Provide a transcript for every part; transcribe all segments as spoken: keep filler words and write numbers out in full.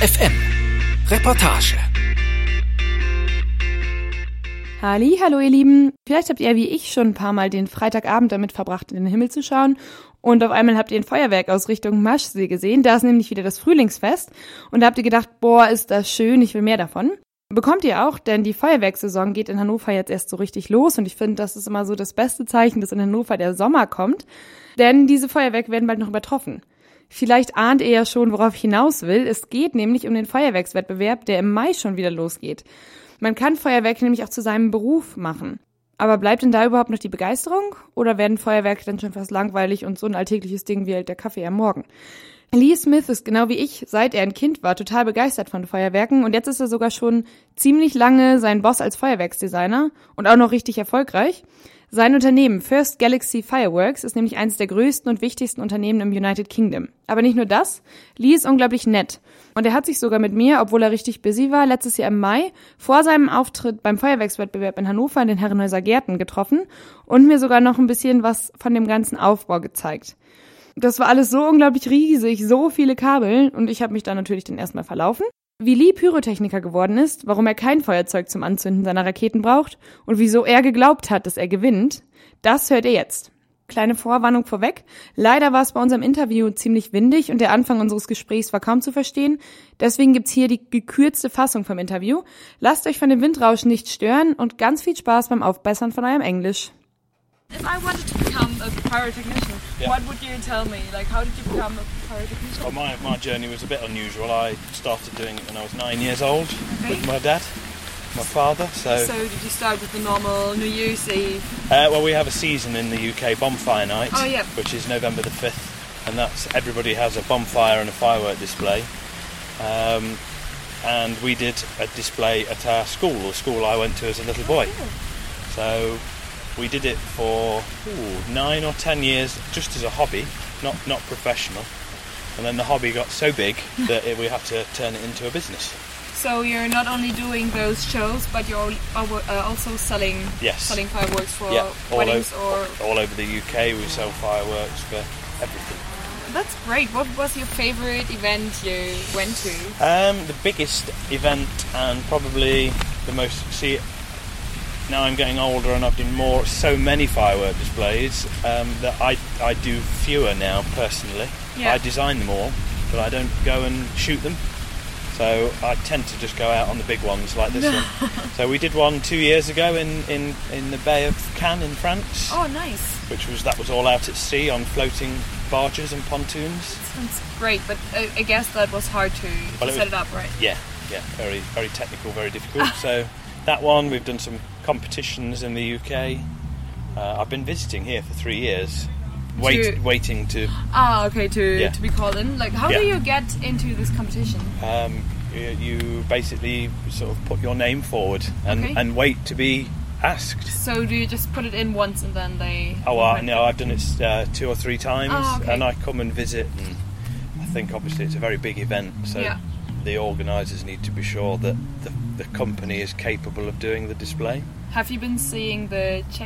F M Reportage. Halli, hallo ihr Lieben. Vielleicht habt ihr wie ich schon ein paar Mal den Freitagabend damit verbracht, in den Himmel zu schauen. Und auf einmal habt ihr ein Feuerwerk aus Richtung Maschsee gesehen. Da ist nämlich wieder das Frühlingsfest. Und da habt ihr gedacht, boah, ist das schön, ich will mehr davon. Bekommt ihr auch, denn die Feuerwerkssaison geht in Hannover jetzt erst so richtig los. Und ich finde, das ist immer so das beste Zeichen, dass in Hannover der Sommer kommt. Denn diese Feuerwerke werden bald noch übertroffen. Vielleicht ahnt ihr ja schon, worauf ich hinaus will. Es geht nämlich um den Feuerwerkswettbewerb, der im Mai schon wieder losgeht. Man kann Feuerwerke nämlich auch zu seinem Beruf machen. Aber bleibt denn da überhaupt noch die Begeisterung? Oder werden Feuerwerke dann schon fast langweilig und so ein alltägliches Ding wie halt der Kaffee am Morgen? Lee Smith ist genau wie ich, seit er ein Kind war, total begeistert von Feuerwerken. Und jetzt ist er sogar schon ziemlich lange sein Boss als Feuerwerksdesigner und auch noch richtig erfolgreich. Sein Unternehmen First Galaxy Fireworks ist nämlich eines der größten und wichtigsten Unternehmen im United Kingdom. Aber nicht nur das, Lee ist unglaublich nett. Und er hat sich sogar mit mir, obwohl er richtig busy war, letztes Jahr im Mai vor seinem Auftritt beim Feuerwerkswettbewerb in Hannover in den Herrenhäuser Gärten getroffen und mir sogar noch ein bisschen was von dem ganzen Aufbau gezeigt. Das war alles so unglaublich riesig, so viele Kabel und ich habe mich da natürlich dann erstmal verlaufen. Wie Lee Pyrotechniker geworden ist, warum er kein Feuerzeug zum Anzünden seiner Raketen braucht und wieso er geglaubt hat, dass er gewinnt, das hört ihr jetzt. Kleine Vorwarnung vorweg. Leider war es bei unserem Interview ziemlich windig und der Anfang unseres Gesprächs war kaum zu verstehen. Deswegen gibt's hier die gekürzte Fassung vom Interview. Lasst euch von dem Windrauschen nicht stören und ganz viel Spaß beim Aufbessern von eurem Englisch. If I wanted to become a pyrotechnician, Yeah. what would you tell me? Like, how did you become a pyrotechnician? Well, my, my journey was a bit unusual. I started doing it when I was nine years old Okay. with my dad, my father. So, So did you start with the normal New Year's Eve? uh, well, we have a season in the U K, Bonfire Night, Oh, yeah. which is November the fifth, and that's everybody has a bonfire and a firework display. Um, and we did a display at our school, the school I went to as a little boy. So we did it for ooh, nine or ten years, just as a hobby, not not professional. And then the hobby got so big that it, we had to turn it into a business. So you're not only doing those shows, but you're al- uh, also selling Yes. selling fireworks for Yeah, all weddings over, or... all over the U K. We sell fireworks for everything. That's great. What was your favorite event you went to? Um, the biggest event and probably the most. See, now I'm getting older and I've done more, so many firework displays um, that I I do fewer now personally. Yeah. I design them all, but I don't go and shoot them. So I tend to just go out on the big ones like this one. So we did one two years ago in, in, in the Bay of Cannes in France, Oh, nice. which was that was all out at sea on floating barges and pontoons. Sounds great, but uh, I guess that was hard to, Well, to it set was- it up, right? Yeah, yeah, very very technical, very difficult. So that one, we've done some competitions in the U K. Uh, I've been visiting here for three years, wait, To- waiting to. Ah, okay, to Yeah. to be called in. Like, how Yeah. do you get into this competition? Um, you, you basically sort of put your name forward and, Okay. and wait to be asked. So do you just put it in once and then they... Oh, I know. I've done it uh, two or three times, Oh, okay. and I come and visit. And I think obviously it's a very big event, so Yeah. the organisers need to be sure that the, the company is capable of doing the display. Have you been seeing the Czech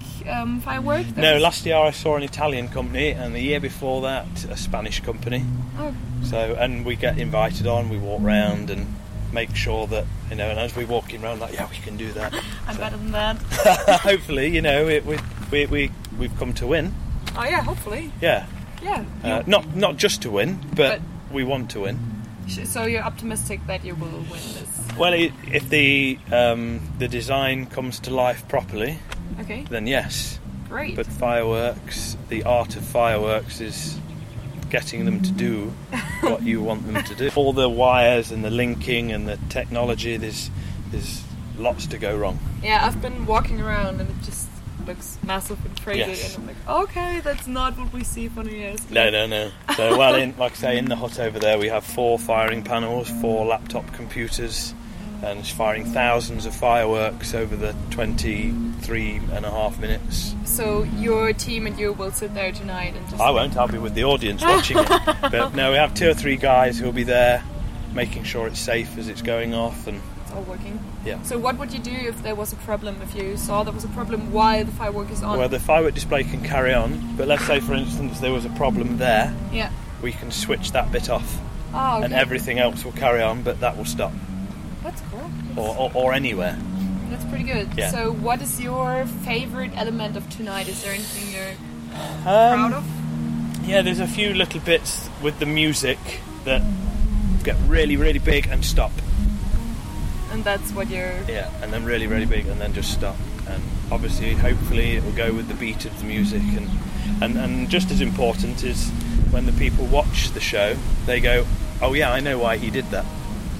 um, firework? No, That's- last year I saw an Italian company, and the year before that a Spanish company. Oh, So, and we get invited on. We walk round and make sure that, you know. And as we're walking around, like, yeah, we can do that. I'm So- better than that. Hopefully, you know, it, we we we we've come to win. Oh yeah, hopefully. Yeah, Yeah. uh, You- not not just to win, but, But- we want to win. So you're optimistic that you will win this? Well, i- if the um, the design comes to life properly, Okay, then yes. great. But fireworks, the art of fireworks is getting them to do what you want them to do. All the wires and the linking and the technology, there's there's lots to go wrong. Yeah, I've been walking around and it just looks massive and crazy, Yes. and I'm like, okay, that's not what we see for New Year's. No, no, no. So, well, in, like I say, in the hut over there, we have four firing panels, four laptop computers, and it's firing thousands of fireworks over the twenty-three and a half minutes. So your team and you will sit there tonight and just... I won't, I'll be with the audience watching it. But no, we have two or three guys who'll be there making sure it's safe as it's going off. And It's all working. yeah. So what would you do if there was a problem, if you saw there was a problem while the firework is on? Well, the firework display can carry on, but let's say, for instance, there was a problem there, Yeah. we can switch that bit off. Oh, okay. and everything else will carry on, but that will stop, That's cool. or, or, or anywhere. That's pretty good. Yeah. So, what is your favorite element of tonight? Is there anything you're Um, proud of? Yeah, there's a few little bits with the music that get really, really big and stop. And that's what you're... Yeah, and then really, really big and then just stop. And obviously, hopefully, it will go with the beat of the music. And, and, and just as important is when the people watch the show, they go, oh yeah, I know why he did that.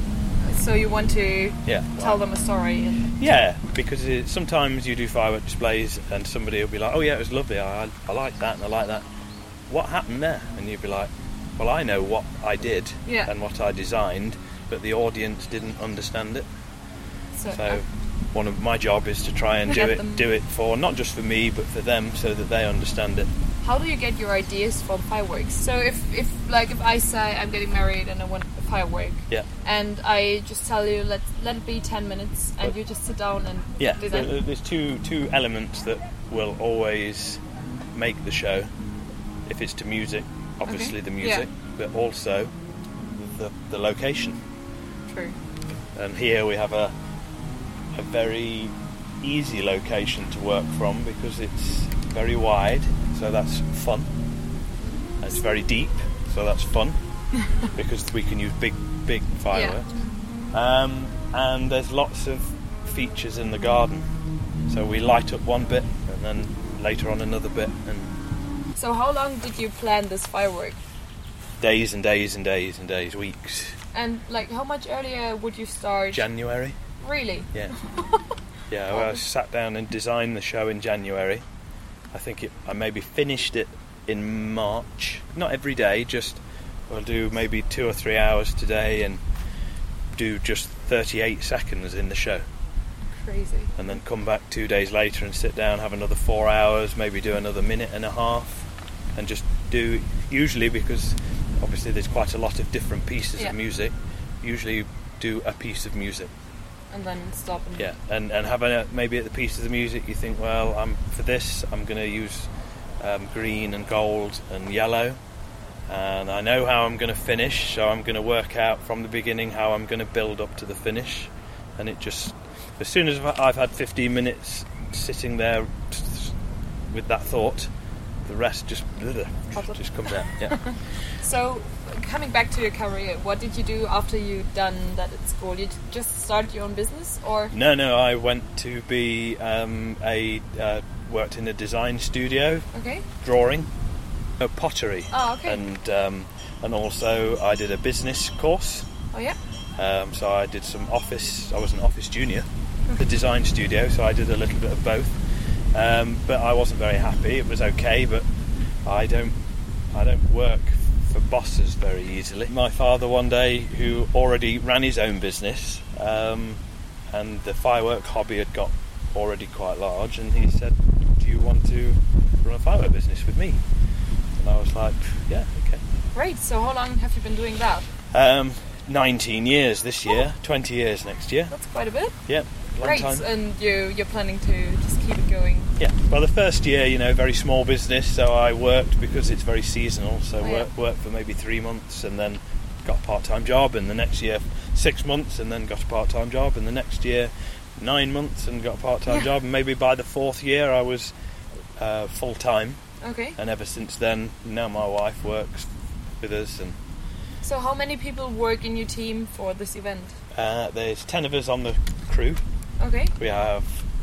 So you want to Yeah. tell them a story? And... Yeah, because it, sometimes you do firework displays and somebody will be like, oh yeah, it was lovely, I, I like that and I like that. What happened there? And you'd be like, well, I know what I did Yeah. and what I designed, but the audience didn't understand it. So, So uh, one of my job is to try and do Get it, them- do it for not just for me, but for them, so that they understand it. how do you get your ideas from fireworks? So if, if like if I say I'm getting married and I want a firework, Yeah, and I just tell you let let it be ten minutes, and But- you just sit down and yeah. design. there- There's two two elements that will always make the show. If it's to music, obviously Okay. the music, but also the the location. True. And here we have a a very easy location to work from because it's very wide, so that's fun. And it's very deep, so that's fun because we can use big, big fireworks. Um, and there's lots of features in the garden, so we light up one bit and then later on another bit, and So how long did you plan this firework? days and days and days and days, weeks. And like how much earlier would you start? January. Really? Yeah. Yeah, well, I sat down and designed the show in January. I think it, I maybe finished it in March. Not every day, just we'll do maybe two or three hours today and do just thirty-eight seconds in the show. Crazy. And then come back two days later and sit down, have another four hours, maybe do another minute and a half, and just do, usually because obviously there's quite a lot of different pieces Yeah. of music, usually do a piece of music. And then stop and Yeah, and and have a, maybe at the piece of the music you think, well, I'm for this I'm going to use um, green and gold and yellow, and I know how I'm going to finish, so I'm going to work out from the beginning how I'm going to build up to the finish, and it just, as soon as I've had fifteen minutes sitting there with that thought, the rest just just comes out. Yeah. So, coming back to your career, what did you do after you done that at school? You just started your own business, or No, no, I went to be um, a uh, worked in a design studio, okay? drawing, uh, pottery, Oh, okay. and um, and also I did a business course. Oh yeah. Um, so I did some office. I was an office junior, the design studio. So I did a little bit of both, um, but I wasn't very happy. It was okay, but I don't. I don't work for bosses very easily. My father one day, who already ran his own business, um, and the firework hobby had got already quite large, and he said, "Do you want to run a firework business with me?" And I was like, "Yeah, okay." Great. So, how long have you been doing that? Um, nineteen years this year, twenty years next year. That's quite a bit. Yeah, long Great. time. And you you're planning to just keep it going. Yeah, well, the first year, you know, very small business, so I worked because it's very seasonal. So Oh, yeah. work, worked for maybe three months, and then got a part-time job. And the next year, six months, and then got a part-time job. And the next year, nine months, and got a part-time Yeah. job. And maybe by the fourth year, I was uh, full-time. Okay. And ever since then, now my wife works with us, and So, how many people work in your team for this event? uh, there's ten of us on the crew. Okay. We have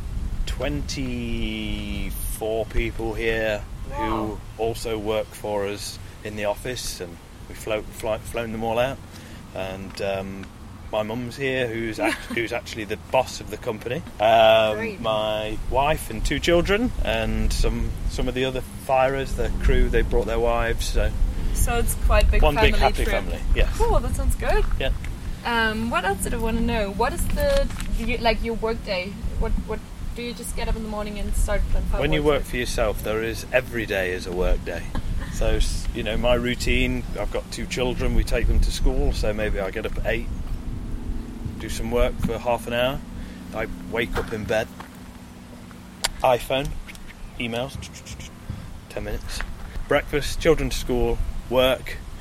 twenty-four people here Wow. who also work for us in the office, and we float, fly, flown them all out. And um, my mum's here, who's act- who's actually the boss of the company. Um, Great. my wife and two children, and some some of the other firers, the crew. They brought their wives. So So it's quite a big one family big happy trip. family. Yes. Cool. That sounds good. Yeah. Um, what else did I want to know? What is the, the like your work day? What what do you just get up in the morning and start playing fireworks? When you work for yourself, there is every day is a work day. So, you know, my routine, I've got two children, we take them to school, so maybe I get up at eight, do some work for half an hour, I wake up in bed, iPhone, emails, ten minutes, breakfast, children to school, work,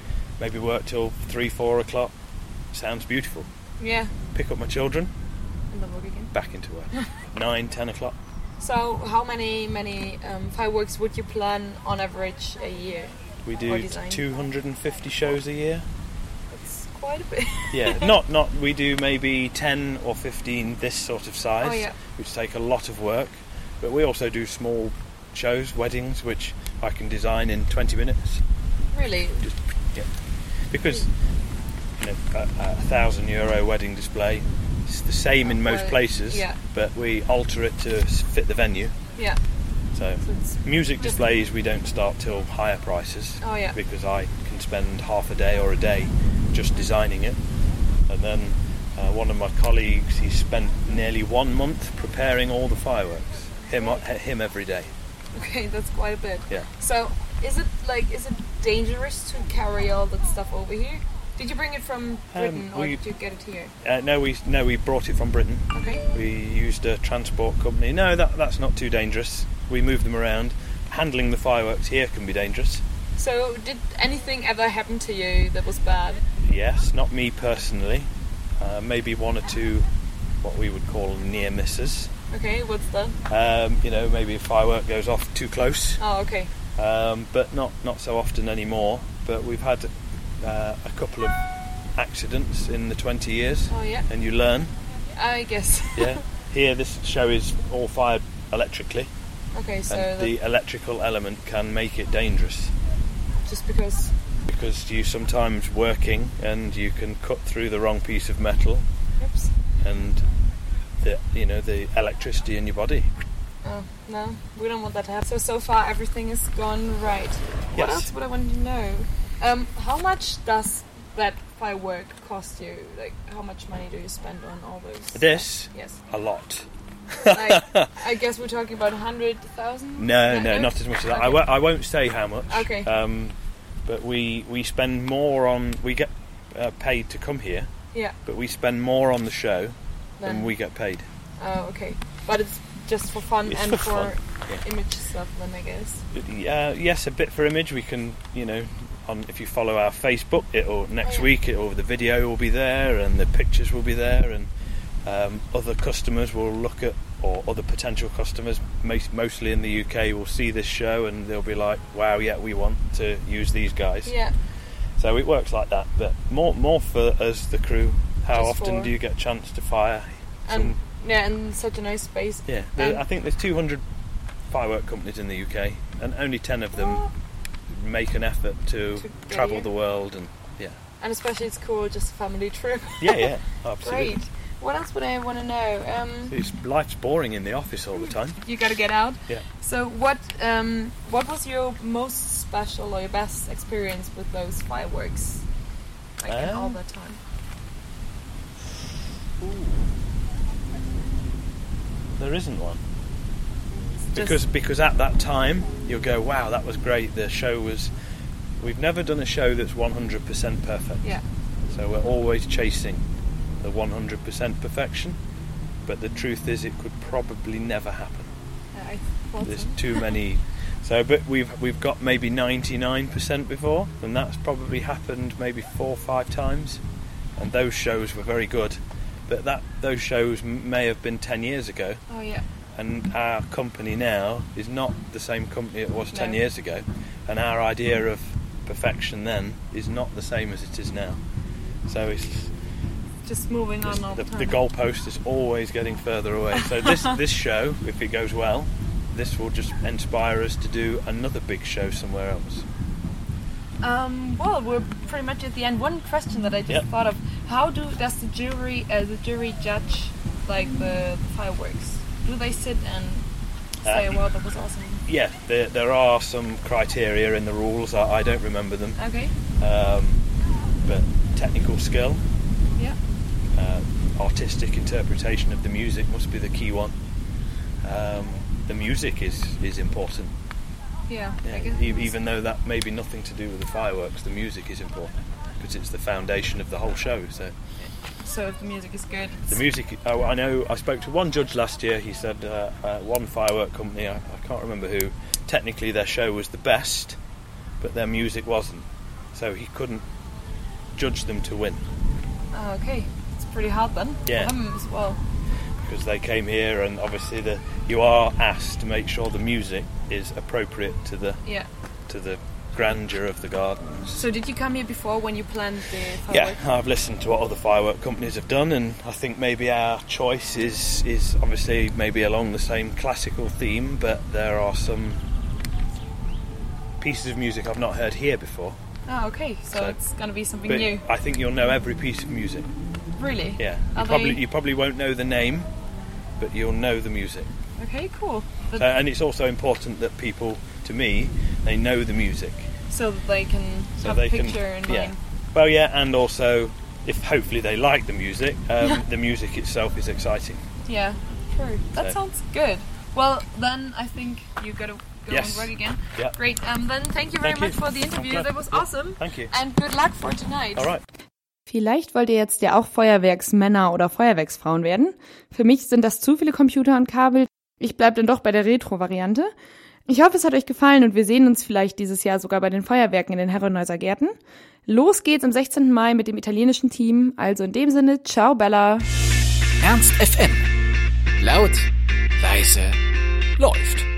maybe work till three, four o'clock. Sounds beautiful. Yeah. Pick up my children, And then work again. back into work. Nine, ten o'clock. So, how many many um, fireworks would you plan on average a year? We Or do design. two hundred fifty shows a year. That's quite a bit. Yeah, not not. We do maybe ten or fifteen this sort of size, Oh, yeah. which take a lot of work. But we also do small shows, weddings, which I can design in twenty minutes. Really? Just yeah, because you know a, a thousand euro wedding display is the same in most Well, places, yeah. but we alter it to s- fit the venue. Yeah. So So it's music just- displays we don't start till higher prices. Oh, yeah. Because I can spend half a day or a day just designing it, and then uh, one of my colleagues, he spent nearly one month preparing all the fireworks. Him, him every day. Okay, that's quite a bit. Yeah. So, is it like is it dangerous to carry all that stuff over here? Did you bring it from Britain or we- did you get it here? Uh, no, we no, we brought it from Britain. Okay. We used a transport company. No, that that's not too dangerous. We move them around. Handling the fireworks here can be dangerous. So, did anything ever happen to you that was bad? Yes, not me personally. Uh, maybe one or two, what we would call near misses. Okay, what's that? Um, you know, maybe a firework goes off too close, Oh, okay. um, but not not so often anymore. But we've had uh, a couple of accidents in the twenty years, Oh, yeah. and you learn. I guess. Yeah. Here, this show is all fired electrically, Okay, so and that the electrical element can make it dangerous just because. because you sometimes working and you can cut through the wrong piece of metal, Oops. and the you know the electricity in your body. Oh, no, we don't want that to happen. So, so far everything is gone right. What Yes. else would I want to know? Um, how much does that firework cost you? Like, how much money do you spend on all those? This Yes. a lot. Like, I guess we're talking about a hundred thousand? No, no, not as much as that. I, Okay. w- I won't say how much. Okay. Um, but we we spend more on. We get uh, paid to come here, Yeah. but we spend more on the show than Then, we get paid. oh, okay. But it's just for fun It's and for for, fun, yeah. image stuff then, I guess. Uh, yes, a bit for image. We can, you know, on if you follow our Facebook, it'll next Oh, yeah. week. It'll the video will be there, and the pictures will be there, and um, other customers will look at, or other potential customers, most, mostly in the U K, will see this show and they'll be like, "Wow, yeah, we want to use these guys." Yeah. So it works like that. But more, more for us, the crew. How Just often for- do you get a chance to fire? And yeah, and such a nice space. Yeah, there, and- I think there's two hundred firework companies in the U K, and only ten of them make an effort to, To- yeah, travel yeah. the world. And yeah, And especially it's cool, just a family trip. yeah, yeah, absolutely. Great. What else would I want to know? Um, It's, life's boring in the office all the time. you got to get out. Yeah. So what um, what was your most special or your best experience with those fireworks? Like in all Um, the time. There isn't one. Just- Because because at that time you'll go, wow, that was great. The show was. We've never done a show that's one hundred percent perfect. Yeah. So we're always chasing the one hundred percent perfection. But the truth is, it could probably never happen. Yeah, I thought There's so. too many. So, but we've we've got maybe ninety-nine percent before, and that's probably happened maybe four or five times. And those shows were very good. But that those shows m- may have been ten years ago. Oh yeah. And our company now is not the same company it was ten No. years ago, and our idea of perfection then is not the same as it is now. So it's Just moving on all the, the time. the goalpost is always getting further away. So this this show, if it goes well, this will just inspire us to do another big show somewhere else. Um, well, we're pretty much at the end. One question that I just Yep. thought of: How do does the jury, uh, the jury judge like the, the fireworks? Do they sit and say, Uh, "Well, that was awesome"? Yeah, there, there are some criteria in the rules. I, I don't remember them, Okay. um, but technical skill, Yeah. uh, artistic interpretation of the music must be the key one. Um, the music is, is important. Yeah. Yeah, I guess e- it's- even though that may be nothing to do with the fireworks, the music is important because it's the foundation of the whole show. So So if the music is good, the it's- music. Oh, I know. I spoke to one judge last year. He said uh, uh, one firework company. I, I can't remember who. Technically, their show was the best, but their music wasn't. So he couldn't judge them to win. Oh, okay. It's pretty hard then. Yeah. For them as well. Because they came here, and obviously the you are asked to make sure the music is appropriate to the Yeah. to the grandeur of the gardens. So did you come here before when you planned the Yeah, fireworks? I've listened to what other firework companies have done, and I think maybe our choice is is obviously maybe along the same classical theme, but there are some pieces of music I've not heard here before. Oh, okay. So, So- it's going to be something But new. I think you'll know every piece of music. Really? Yeah, Are you probably they- you probably won't know the name, but you'll know the music. Okay, cool. But, So, and it's also important that people, to me, they know the music. so that they can So have they a picture can, in yeah. mind. Well, yeah, and also, if hopefully they like the music, um, the music itself is exciting. Yeah, true. That So- sounds good. Well, then I think you got to go Yes. and work again. Yeah. Great. Um, then thank you very Thank you. much for the interview. I'm glad. That was Yeah. awesome. Thank you. And good luck for tonight. All right. Vielleicht wollt ihr jetzt ja auch Feuerwerksmänner oder Feuerwerksfrauen werden. Für mich sind das zu viele Computer und Kabel. Ich bleib dann doch bei der Retro-Variante. Ich hoffe, es hat euch gefallen und wir sehen uns vielleicht dieses Jahr sogar bei den Feuerwerken in den Herrenhäuser Gärten. Los geht's am sechzehnten Mai mit dem italienischen Team. Also in dem Sinne, ciao Bella. Ernst F M. Laut, leise, läuft.